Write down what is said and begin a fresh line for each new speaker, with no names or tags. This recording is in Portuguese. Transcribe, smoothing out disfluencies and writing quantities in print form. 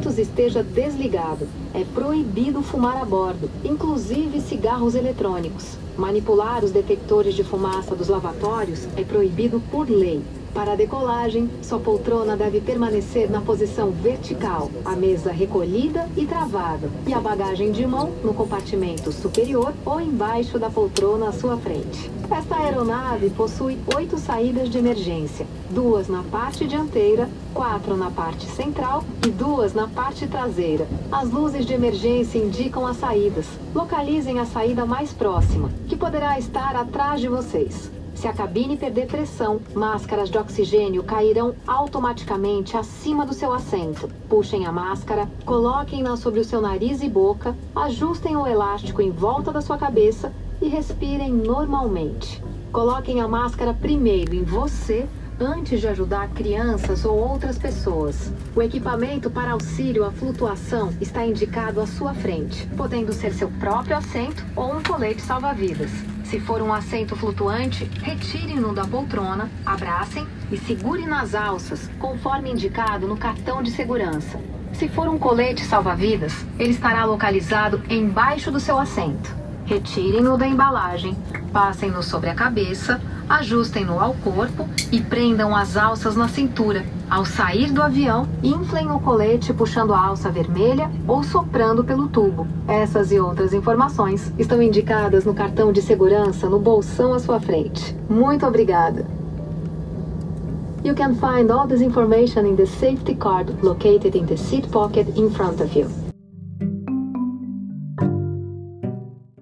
equipamentos esteja desligado. É proibido fumar a bordo, inclusive cigarros eletrônicos. Manipular os detectores de fumaça dos lavatórios é proibido por lei. Para a decolagem, sua poltrona deve permanecer na posição vertical, a mesa recolhida e travada, e a bagagem de mão no compartimento superior ou embaixo da poltrona à sua frente. Esta aeronave possui 8 saídas de emergência, 2 na parte dianteira, 4 na parte central e 2 na parte traseira. As luzes de emergência indicam as saídas. Localizem a saída mais próxima, que poderá estar atrás de vocês. Se a cabine perder pressão, máscaras de oxigênio cairão automaticamente acima do seu assento. Puxem a máscara, coloquem-na sobre o seu nariz e boca, ajustem o elástico em volta da sua cabeça e respirem normalmente. Coloquem a máscara primeiro em você, antes de ajudar crianças ou outras pessoas. O equipamento para auxílio à flutuação está indicado à sua frente, podendo ser seu próprio assento ou um colete salva-vidas. Se for um assento flutuante, retire-no da poltrona, abracem e segure nas alças, conforme indicado no cartão de segurança. Se for um colete salva-vidas, ele estará localizado embaixo do seu assento. Retirem-no da embalagem, passem-no sobre a cabeça, ajustem-no ao corpo e prendam as alças na cintura. Ao sair do avião, inflem o colete puxando a alça vermelha ou soprando pelo tubo. Essas e outras informações estão indicadas no cartão de segurança no bolsão à sua frente. Muito obrigada! You can find all this information in the safety card located in the seat pocket in front of you.